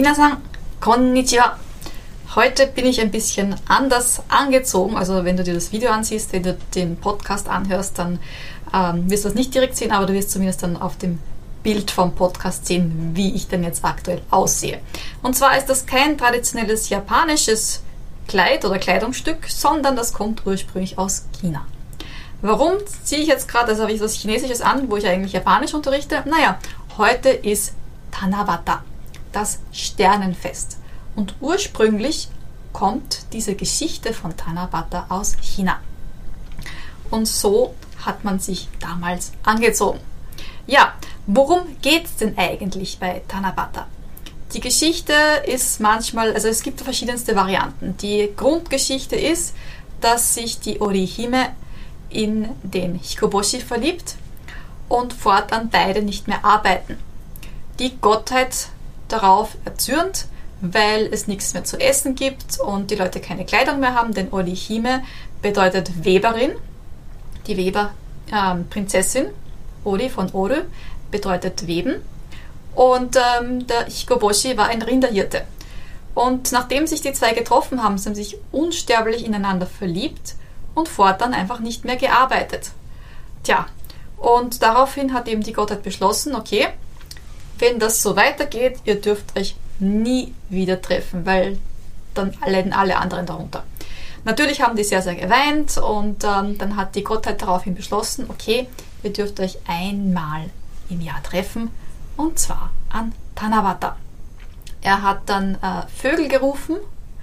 Minasan, konnichiwa. Heute bin ich ein bisschen anders angezogen. Also wenn du dir das Video ansiehst, wenn du den Podcast anhörst, dann wirst du das nicht direkt sehen, aber du wirst zumindest dann auf dem Bild vom Podcast sehen, wie ich denn jetzt aktuell aussehe. Und zwar ist das kein traditionelles japanisches Kleid oder Kleidungsstück, sondern das kommt ursprünglich aus China. Warum ziehe ich jetzt gerade, also habe ich was Chinesisches an, wo ich eigentlich Japanisch unterrichte? Naja, heute ist Tanabata, das Sternenfest. Und ursprünglich kommt diese Geschichte von Tanabata aus China. Und so hat man sich damals angezogen. Ja, worum geht es denn eigentlich bei Tanabata? Die Geschichte ist manchmal, also es gibt verschiedenste Varianten. Die Grundgeschichte ist, dass sich die Orihime in den Hikoboshi verliebt und fortan beide nicht mehr arbeiten. Die Gottheit darauf erzürnt, weil es nichts mehr zu essen gibt und die Leute keine Kleidung mehr haben, denn Orihime bedeutet Weberin. Die Weberprinzessin, Ori von Oru, bedeutet Weben. Und der Hikoboshi war ein Rinderhirte. Und nachdem sich die zwei getroffen haben, sind sie sich unsterblich ineinander verliebt und fortan einfach nicht mehr gearbeitet. Tja, und daraufhin hat eben die Gottheit beschlossen, okay, wenn das so weitergeht, ihr dürft euch nie wieder treffen, weil dann leiden alle anderen darunter. Natürlich haben die sehr, sehr geweint und dann hat die Gottheit daraufhin beschlossen, okay, ihr dürft euch einmal im Jahr treffen und zwar an Tanabata. Er hat dann Vögel gerufen,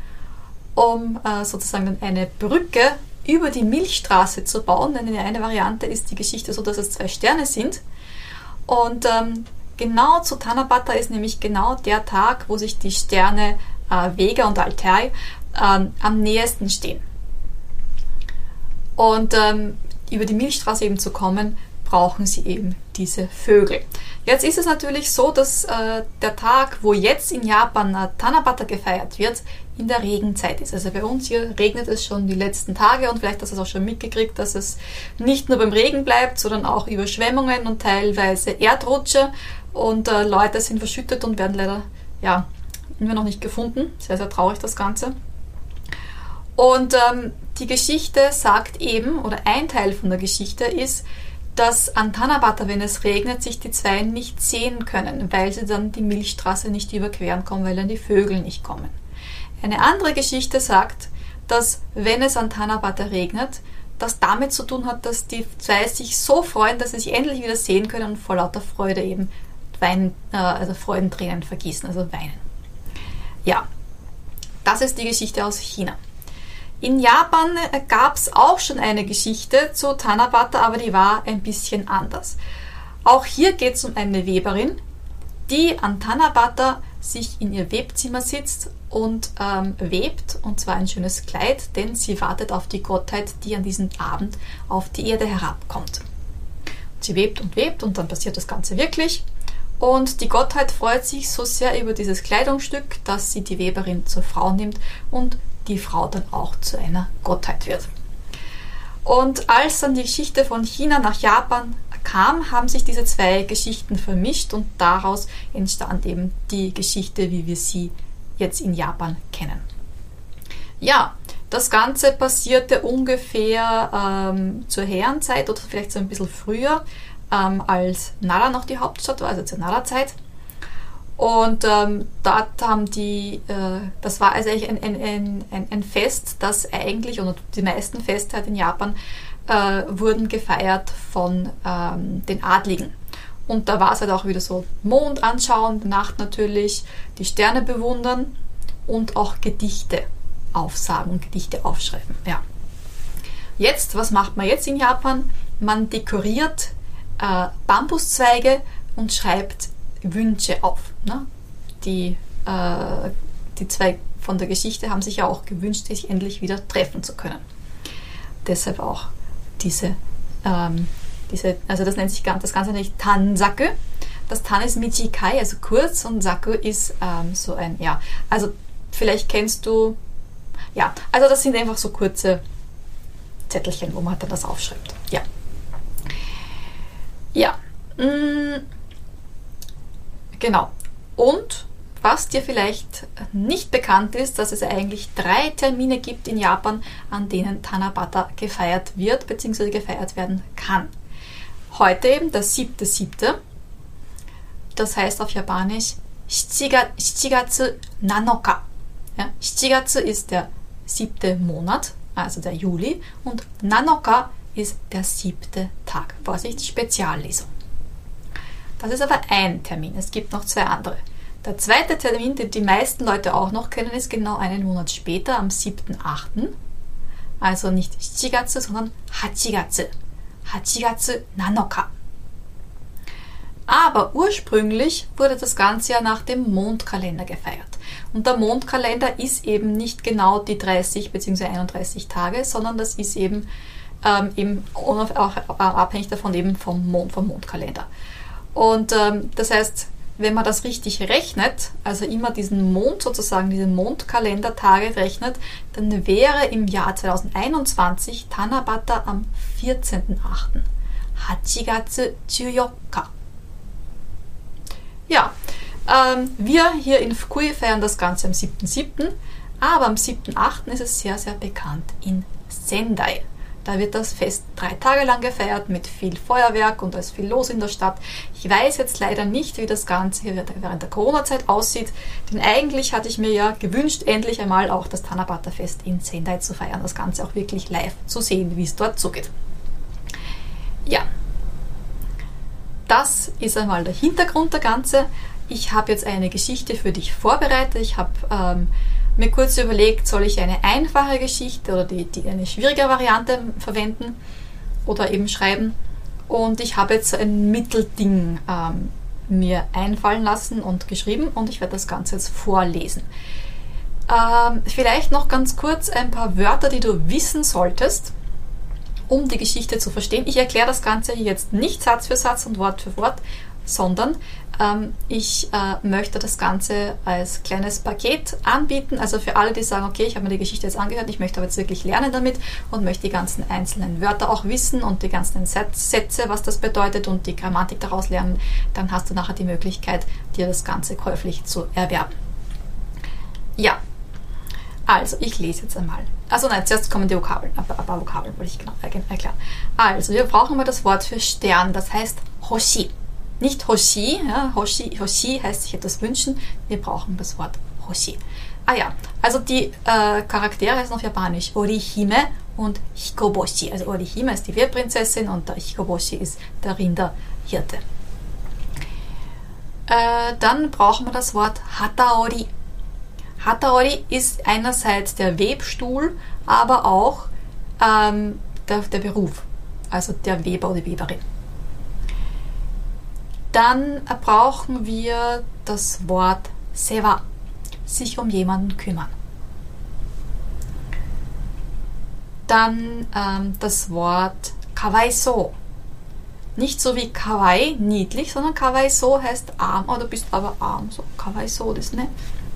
um sozusagen eine Brücke über die Milchstraße zu bauen, denn in der eine Variante ist die Geschichte so, dass es 2 Sterne sind und genau zu Tanabata ist nämlich genau der Tag, wo sich die Sterne Vega und Altair am nächsten stehen. Und über die Milchstraße eben zu kommen, brauchen sie eben diese Vögel. Jetzt ist es natürlich so, dass der Tag, wo jetzt in Japan Tanabata gefeiert wird, in der Regenzeit ist. Also bei uns hier regnet es schon die letzten Tage und vielleicht hast du es auch schon mitgekriegt, dass es nicht nur beim Regen bleibt, sondern auch Überschwemmungen und teilweise Erdrutsche und Leute sind verschüttet und werden leider immer noch nicht gefunden. Sehr, sehr traurig das Ganze. Und die Geschichte sagt eben, oder ein Teil von der Geschichte ist, dass an Tanabata, wenn es regnet, sich die zwei nicht sehen können, weil sie dann die Milchstraße nicht überqueren kommen, weil dann die Vögel nicht kommen. Eine andere Geschichte sagt, dass wenn es an Tanabata regnet, das damit zu tun hat, dass die zwei sich so freuen, dass sie sich endlich wieder sehen können und vor lauter Freude eben weinen, also Freudentränen vergießen, also weinen. Ja, das ist die Geschichte aus China. In Japan gab es auch schon eine Geschichte zu Tanabata, aber die war ein bisschen anders. Auch hier geht es um eine Weberin, die an Tanabata sich in ihr Webzimmer sitzt und webt, und zwar ein schönes Kleid, denn sie wartet auf die Gottheit, die an diesem Abend auf die Erde herabkommt. Sie webt und dann passiert das Ganze wirklich. Und die Gottheit freut sich so sehr über dieses Kleidungsstück, dass sie die Weberin zur Frau nimmt und die Frau dann auch zu einer Gottheit wird. Und als dann die Geschichte von China nach Japan kam, haben sich diese 2 Geschichten vermischt und daraus entstand eben die Geschichte, wie wir sie jetzt in Japan kennen. Ja, das Ganze passierte ungefähr zur Heian-Zeit oder vielleicht so ein bisschen früher, als Nara noch die Hauptstadt war, also zur Nara-Zeit. Und dort haben das war also eigentlich ein Fest, das eigentlich, und die meisten Feste halt in Japan, wurden gefeiert von den Adligen. Und da war es halt auch wieder so Mond anschauen, Nacht natürlich, die Sterne bewundern und auch Gedichte aufsagen und Gedichte aufschreiben. Ja. Jetzt, was macht man jetzt in Japan? Man dekoriert Bambuszweige und schreibt Wünsche auf. Ne? Die 2 von der Geschichte haben sich ja auch gewünscht, sich endlich wieder treffen zu können. Deshalb auch also das nennt sich das Ganze nicht Tansaku. Das Tan ist Michikai, also kurz, und Saku ist so ein, also vielleicht kennst du, also das sind einfach so kurze Zettelchen, wo man dann das aufschreibt. Genau. Und was dir vielleicht nicht bekannt ist, dass es eigentlich 3 Termine gibt in Japan, an denen Tanabata gefeiert wird bzw. gefeiert werden kann. Heute eben der 7.7., das heißt auf Japanisch 7月7日. Ja, 7月ist der 7. Monat, also der Juli, und 7 ist der 7. Tag. Vorsicht, Speziallesung. Das ist aber ein Termin, es gibt noch 2 andere. Der zweite Termin, den die meisten Leute auch noch kennen, ist genau einen Monat später, am 7.8. Also nicht 7月, sondern 8月. 8月7日. Aber ursprünglich wurde das Ganze ja nach dem Mondkalender gefeiert. Und der Mondkalender ist eben nicht genau die 30 bzw. 31 Tage, sondern das ist eben, auch abhängig davon eben vom Mondkalender. Und das heißt, wenn man das richtig rechnet, also immer diesen Mond sozusagen, diese Mondkalendertage rechnet, dann wäre im Jahr 2021 Tanabata am 14.8. 8月14日. Ja, wir hier in Fukui feiern das Ganze am 7.7., aber am 7.8. ist es sehr, sehr bekannt in Sendai. Da wird das Fest 3 Tage lang gefeiert mit viel Feuerwerk und da ist viel los in der Stadt. Ich weiß jetzt leider nicht, wie das Ganze hier während der Corona-Zeit aussieht, denn eigentlich hatte ich mir ja gewünscht, endlich einmal auch das Tanabata-Fest in Sendai zu feiern, das Ganze auch wirklich live zu sehen, wie es dort zugeht. Ja, das ist einmal der Hintergrund der Ganze. Ich habe jetzt eine Geschichte für dich vorbereitet. Ich habe mir kurz überlegt, soll ich eine einfache Geschichte oder eine schwierige Variante verwenden oder eben schreiben. Und ich habe jetzt ein Mittelding mir einfallen lassen und geschrieben und ich werde das Ganze jetzt vorlesen. Vielleicht noch ganz kurz ein paar Wörter, die du wissen solltest, um die Geschichte zu verstehen. Ich erkläre das Ganze hier jetzt nicht Satz für Satz und Wort für Wort, sondern ich möchte das Ganze als kleines Paket anbieten. Also für alle, die sagen, okay, ich habe mir die Geschichte jetzt angehört, ich möchte aber jetzt wirklich lernen damit und möchte die ganzen einzelnen Wörter auch wissen und die ganzen Sätze, was das bedeutet und die Grammatik daraus lernen, dann hast du nachher die Möglichkeit, dir das Ganze käuflich zu erwerben. Ja, also ich lese jetzt einmal. Also nein, zuerst kommen die Vokabeln, ein paar Vokabeln wollte ich genau erklären. Also wir brauchen mal das Wort für Stern, das heißt Hoshi. Nicht Hoshi, ja, Hoshi heißt sich etwas wünschen, wir brauchen das Wort Hoshi. Ah ja, also die Charaktere heißen auf Japanisch Orihime und Hikoboshi. Also Orihime ist die Wehrprinzessin und der Hikoboshi ist der Rinderhirte. Dann brauchen wir das Wort Hataori. Hataori ist einerseits der Webstuhl, aber auch der Beruf, also der Weber oder die Weberin. Dann brauchen wir das Wort Sewa, sich um jemanden kümmern. Dann das Wort Kawaiso. Nicht so wie Kawaii, niedlich, sondern Kawaiso heißt arm, oh, du bist aber arm, so Kawaiso, das ne?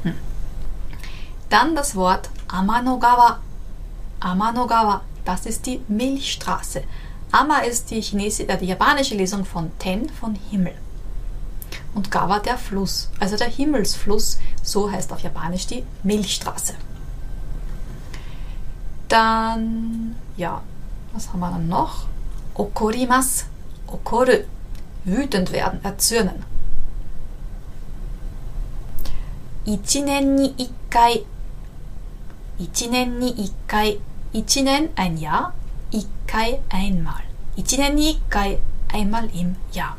Dann das Wort Amanogawa. Amanogawa, das ist die Milchstraße. Ama ist die japanische Lesung von Ten, von Himmel. Und Gawa der Fluss, also der Himmelsfluss, so heißt auf Japanisch die Milchstraße. Dann, ja, was haben wir dann noch? Okorimasu, okoru, wütend werden, erzürnen. Ichinen ni ikkai, ichinen ni ikkai, ichinen ein Jahr, ikkai einmal. Ichinen ni ikkai, einmal im Jahr.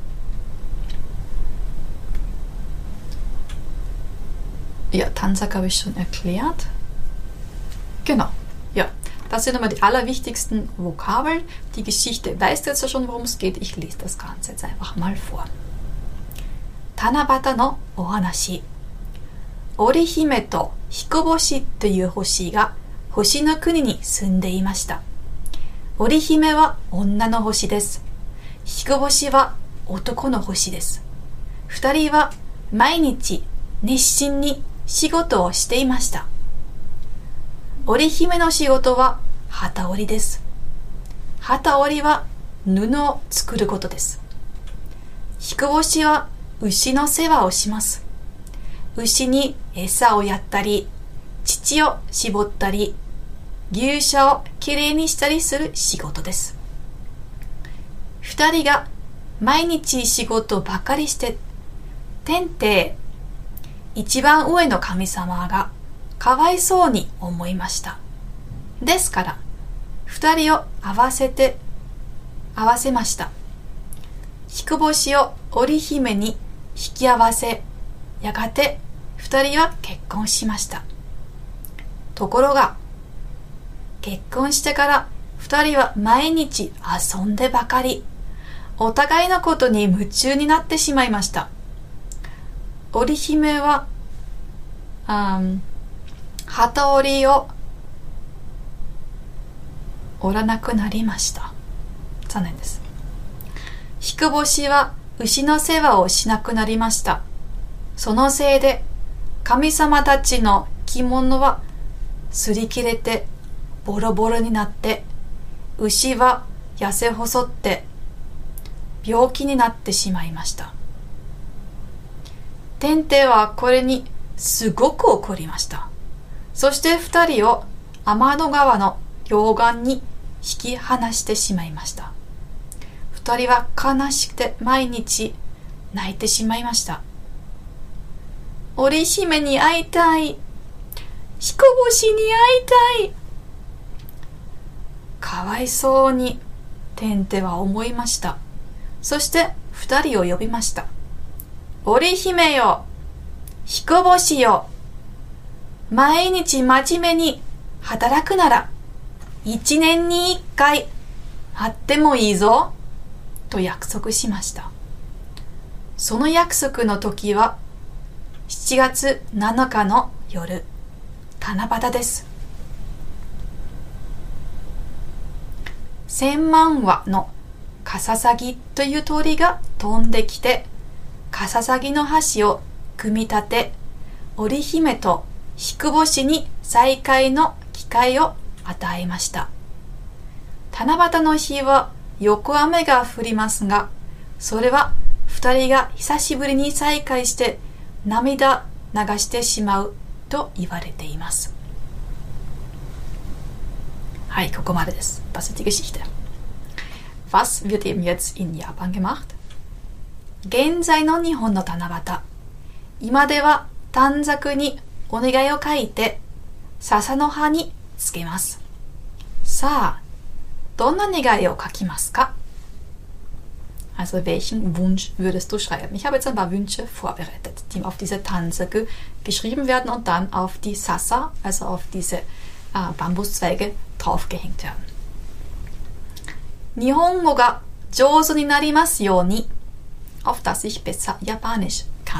Ja, Tansak habe ich schon erklärt. Genau, ja. Das sind einmal die allerwichtigsten Vokabeln. Die Geschichte weißt du jetzt ja schon, worum es geht. Ich lese das Ganze jetzt einfach mal vor. Tanabata no ohanashi. Orihime to Hikoboshi という星が星の国に住んでいました。織姫は女の星です。彦星は男の星です。二人は毎日熱心に仕事をしていました。織姫の仕事は機織りです。機織りは布を作ることです。彦星は牛の世話をします。 牛に餌をやったり、乳を絞ったり、牛舎をきれいにしたりする仕事です。二人が毎日仕事ばかりして、天帝、一番上の神様がかわいそうに思いました。ですから、二人を合わせました。彦星を織姫に引き合わせ、やがて二人は結婚しました。ところが、結婚してから二人は毎日遊んでばかり、お互いのことに夢中になってしまいました。織姫は、機織りを織らなくなりました。残念です。彦星は牛の世話をしなくなりました。そのせいで神様たちの着物は擦り切れてボロボロになって、牛は痩せ細って病気になってしまいました。天帝はこれにすごく怒りました。そして二人を天の川の両岸に引き離してしまいました。二人は悲しくて毎日泣いてしまいました。織姫に会いたい。彦星に会いたい。かわいそうに天帝は思いました。そして二人を呼びました。織姫よ、彦星よ、毎日真面目に働くなら一年に一回会ってもいいぞと約束しました。その約束の時は7月7日の夜、七夕です。千万羽のカササギという鳥が飛んできて、カササギの橋を組み立て、織姫と彦星に再会の機会を与えました。七夕の日はよく雨が降りますが、それは二人が久しぶりに再会して涙流してしまうと言われています。はい、ここまでです。Das ist die Geschichte. Was wird eben jetzt in Japan gemacht? 現在の日本の七夕。今では短冊にお願いを書いて笹の葉につけます。さあ、どんな願いを書きますか？ Also welchen Wunsch würdest du schreiben? Ich habe jetzt ein paar Wünsche vorbereitet, die auf diese Tansaku geschrieben werden und dann auf die Sasa, also auf diese Bambuszweige draufgehängt werden. 日本語が上手になりますように, auf dass ich besser Japanisch kann.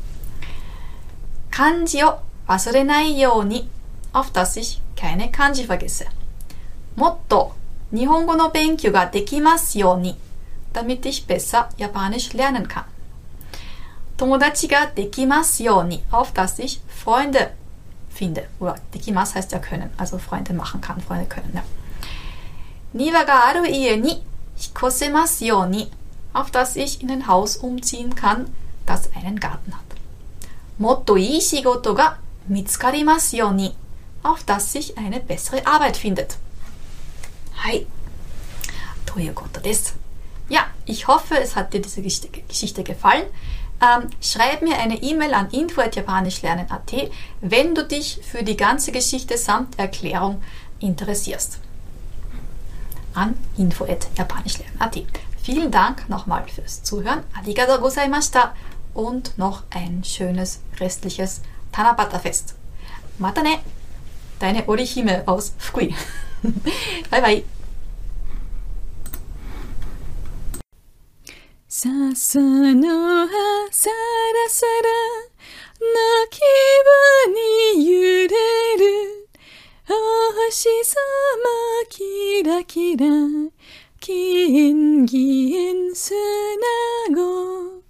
漢字を忘れないように, auf dass ich keine Kanji vergesse. もっと日本語の勉強ができますように, damit ich besser Japanisch lernen kann. 友達ができますように, auf dass ich Freunde finde. Oder できます heißt ja können, also Freunde machen kann, Freunde können. Ja. 庭がある家に引っ越せますように, auf dass ich in ein Haus umziehen kann, das einen Garten hat. もっといい仕事が見つかりますように, auf dass sich eine bessere Arbeit findet. はい。ということです。Ja, ich hoffe, es hat dir diese Geschichte gefallen. Schreib mir eine E-Mail an info@japanischlernen.at, wenn du dich für die ganze Geschichte samt Erklärung interessierst. An info@japanischlernen.at. Vielen Dank nochmal fürs Zuhören. Arigatou gozaimashita und noch ein schönes restliches Tanabata-Fest. Mata ne! Deine Orihime aus Fukui. Bye bye. 笹の葉さらさらの気分に揺れるお星様キラキラ金銀砂子